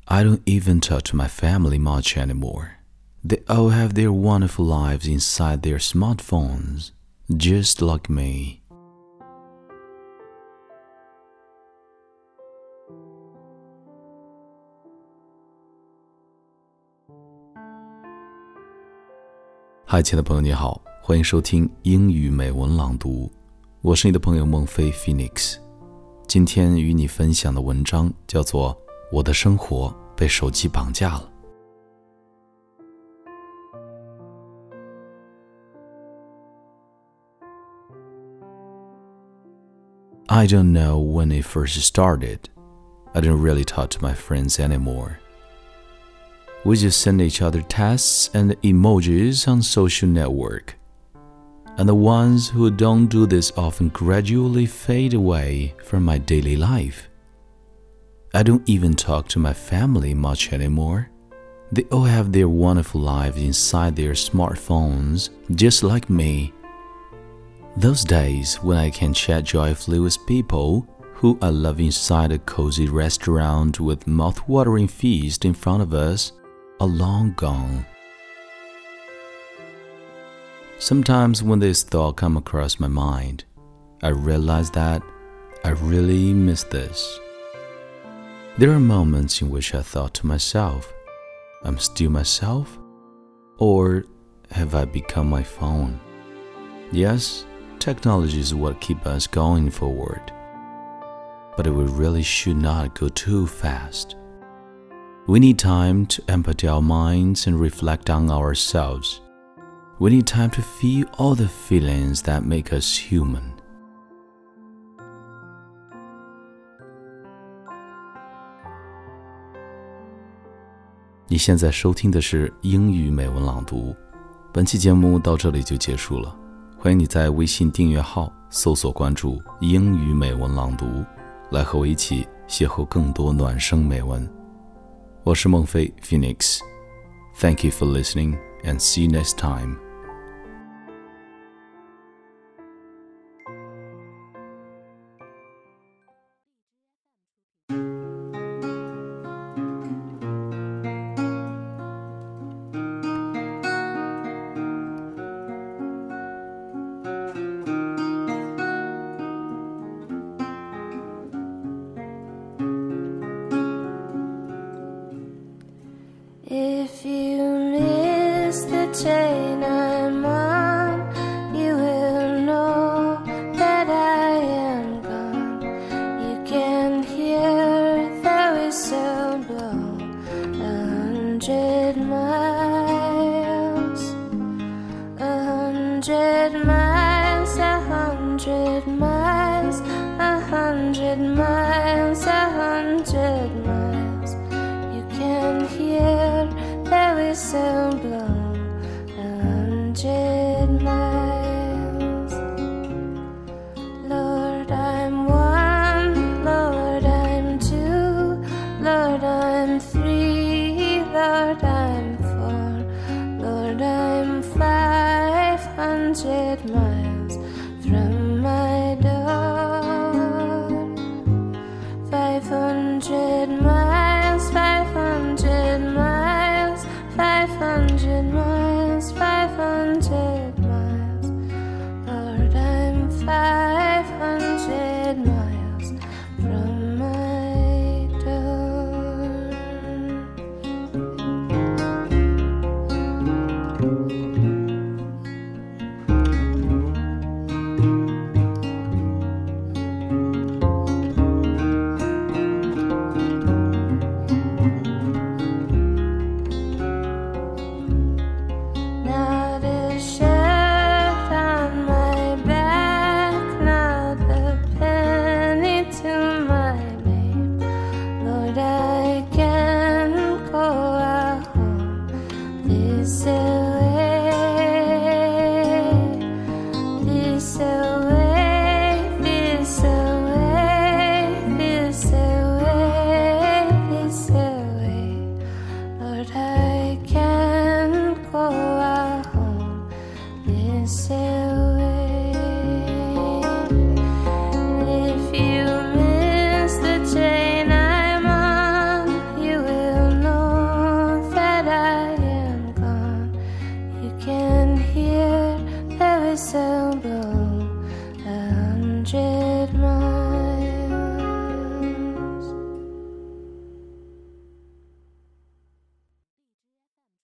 I don't even talk to my family much anymore. They all have their wonderful lives inside their smartphones, just like me.嗨，亲爱的朋友你好，欢迎收听英语美文朗读，我是你的朋友孟非 Phoenix。 今天与你分享的文章叫做《我的生活被手机绑架了》。I don't know when it first started. I didn't really talk to my friends anymore. We just send each other texts and emojis on social network. And the ones who don't do this often gradually fade away from my daily life. I don't even talk to my family much anymore. They all have their wonderful lives inside their smartphones, just like me. Those days when I can chat joyfully with people who I love inside a cozy restaurant with mouth-watering feast in front of us are long gone. Sometimes when this thought comes across my mind, I realize that I really miss this. There are moments in which I thought to myself, I'm still myself? Or have I become my phone? Yes, technology is what keeps us going forward. But we really should not go too fast. We need time to empty our minds and reflect on ourselves. We need time to feel all the feelings that make us human. 你现在收听的是英语美文朗读，本期节目到这里就结束了。欢迎你在微信订阅号搜索关注英语美文朗读，来和我一起邂逅更多暖声美文。我是孟非 Phoenix. Thank you for listening and see you next time. If you miss the train I'm on, you will know that I am gone. You can hear the whistle blow 100 miles, 100 miles, 100 miles, 100 miles, 100 miles. You can hear the whistle blow 100 miles. Lord, I'm one, Lord, I'm two, Lord, I'm three, Lord, I'm four, Lord, I'm 500 miles from my door. 500 miles, 500 miles, 500 miles, 500 miles. Lord, I'm 500 miles from my door. simple